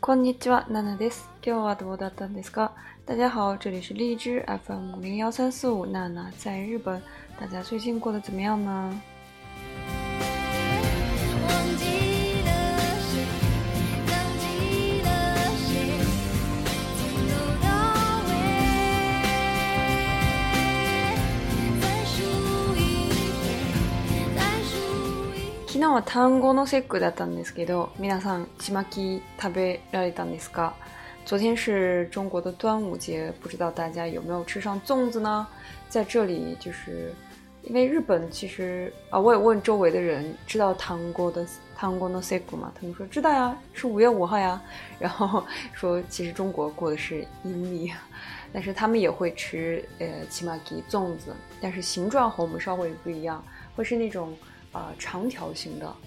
こんにちは、ナナです。今日はどうだったんですか？大家好，这里是荔枝 FM 01345，娜娜在日本。大家最近过得怎么样呢？昨日は単語の節句だったんですけど、皆さんちまき食べられたんですか？昨天是中国的端午节，不知道大家有没有吃上粽子呢？在这里就是因为日本其实我也问周围的人知道単語の節句吗？他们说知道呀，是5月5号呀。然后说其实中国过的是阴历，但是他们也会吃ちまき粽子，但是形状和我们稍微不一样，会是那种长条形的。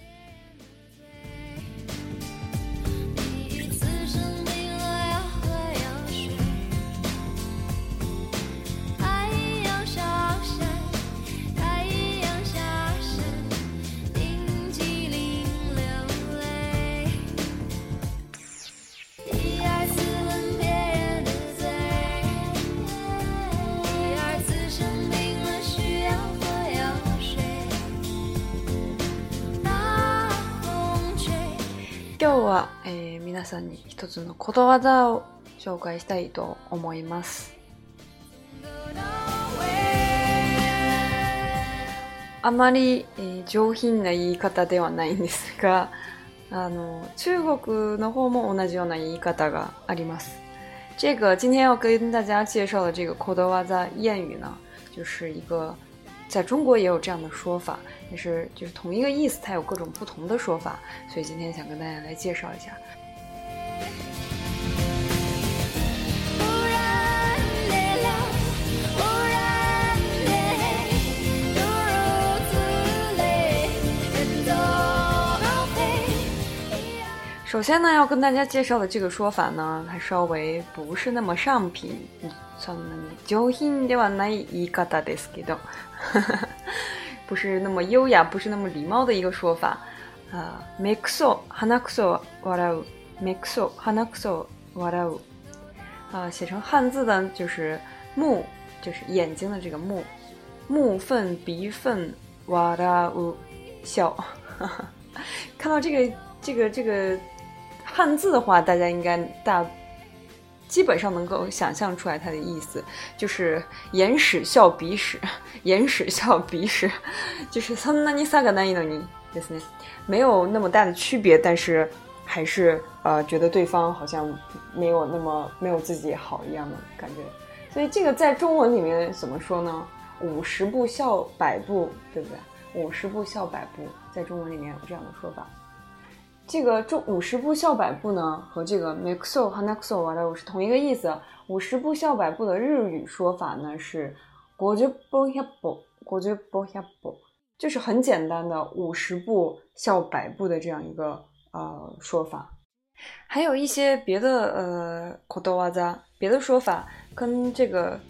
今日は、皆さんに一つのことわざを紹介したいと思います。あまり、上品な言い方ではないんですが、中国の方も同じような言い方があります。这个今天要跟大家介绍的这个ことわざ谚语呢，就是一个在中国也有这样的说法，但是就是同一个意思，它有各种不同的说法，所以今天想跟大家来介绍一下。首先呢，要跟大家介绍的这个说法呢，它稍微不是那么上品，そんなに上品ではない言い方ですけど不是那么优雅，不是那么礼貌的一个说法。目くそ鼻くそ笑う，目くそ鼻くそ笑う。写成汉字的就是目，就是眼睛的这个目，目分鼻分笑う笑。看到这个汉字的话，大家应该基本上能够想象出来它的意思，就是眼屎笑鼻屎，眼屎笑鼻屎，就是そんなに差がないのにですね，没有那么大的区别，但是还是觉得对方好像没有自己好一样的感觉。所以这个在中文里面怎么说呢？50步笑百步，对不对？50步笑百步，在中文里面有这样的说法。这个50步笑百步呢，和这个目くそ鼻くそ笑う是同一个意思。50步笑百步的日语说法呢是50歩100歩50歩100歩，就是很简单的50步笑百步的这样一个说法。还有一些别的ことわざ，别的说法跟这个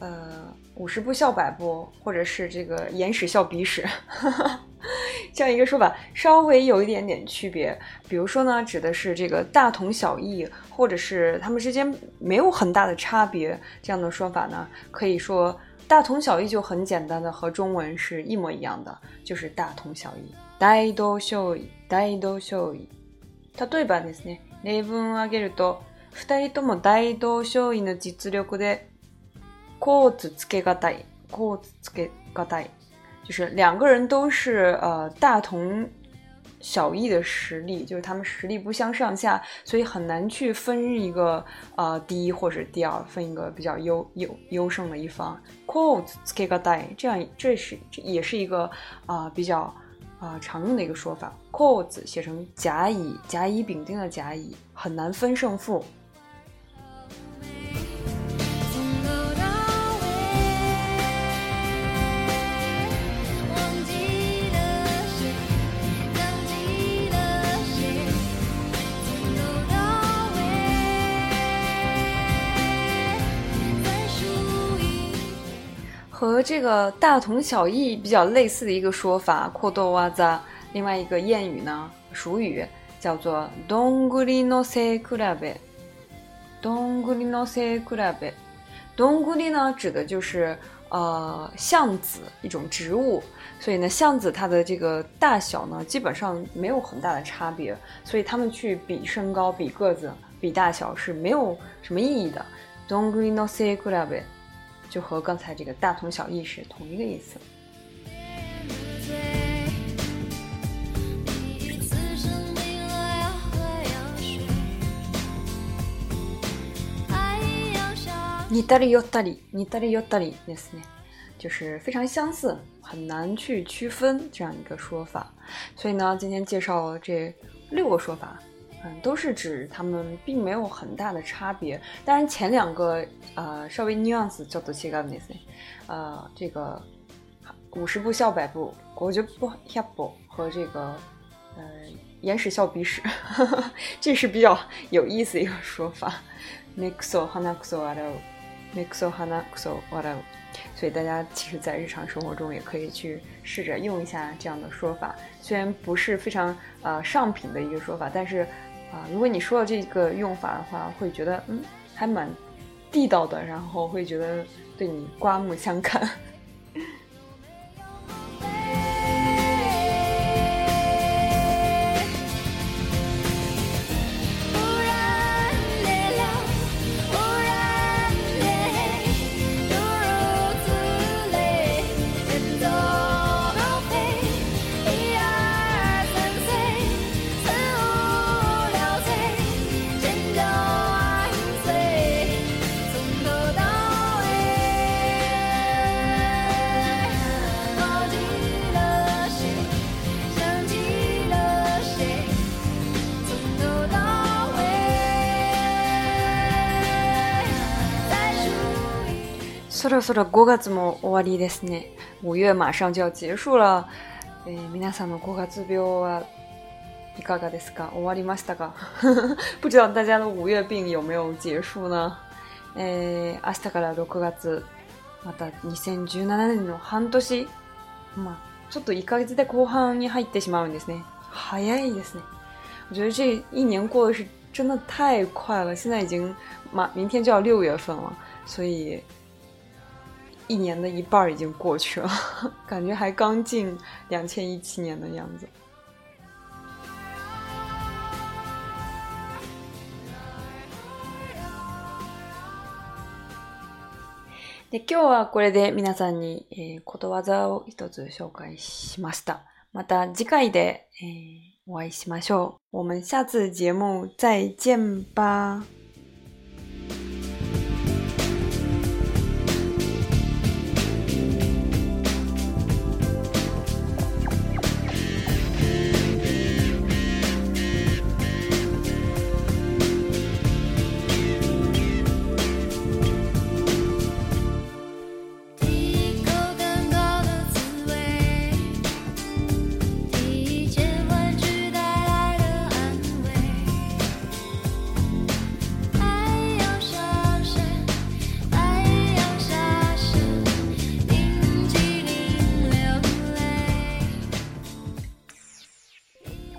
50步笑百步，或者是这个眼屎笑鼻屎这样一个说法稍微有一点点区别。比如说呢，指的是这个大同小异，或者是他们之间没有很大的差别，这样的说法呢，可以说大同小異就很简单的和中文是一模一样的，就是大同小異。大同小異、大同小異。例えばですね、例文を挙げると、2人とも大同小異の実力でコーツつけがたい、コーツつけがたい。就是两个人都是大同小异的实力，就是他们实力不相上下，所以很难去分一个第一或者第二，分一个比较优胜的一方。コーツつけがたい，这也是一个比较常用的一个说法。コーツ写成甲乙丙丁的甲乙，很难分胜负。和这个大同小异比较类似的一个说法，ことわざ，另外一个谚语呢，俗语叫做どんぐりの背比べ。どんぐりの背比べ。どんぐり呢，指的就是橡子，一种植物。所以呢，橡子它的这个大小呢，基本上没有很大的差别。所以他们去比身高、比个子、比大小是没有什么意义的。どんぐりの背比べ就和刚才这个大同小异是同一个意思。似たり寄ったり、似たり寄ったりですね，就是非常相似，很难去区分这样一个说法。所以呢，今天介绍这6个说法，都是指它们并没有很大的差别。当然前2个稍微 nuance ちょっと違うんですね。这个50步笑百步、50步100歩和这个眼屎笑鼻屎，这是比较有意思的一个说法。目くそ鼻くそ笑う。目くそ鼻くそ笑う，所以大家其实在日常生活中也可以去试着用一下这样的说法。虽然不是非常上品的一个说法，但是如果你说了这个用法的话，会觉得还蛮地道的，然后会觉得对你刮目相看。そろそろ5月も終わりですね。5月马上就要结束了。皆さんの5月病はいかがですか？終わりましたか？不知道大家的5月病有没有结束呢？明日から6月、また2017年の半年、ちょっと1ヶ月で後半に入ってしまうんですね。早いですね。我觉得这一年过得是真的太快了，现在已经明天就要6月份了，所以一年的一半已经过去了，感觉还刚进2017年的样子。で今日はこれで皆さんに、ことわざを一つ紹介しました。また次回で、お会いしましょう。我们下次节目再见吧。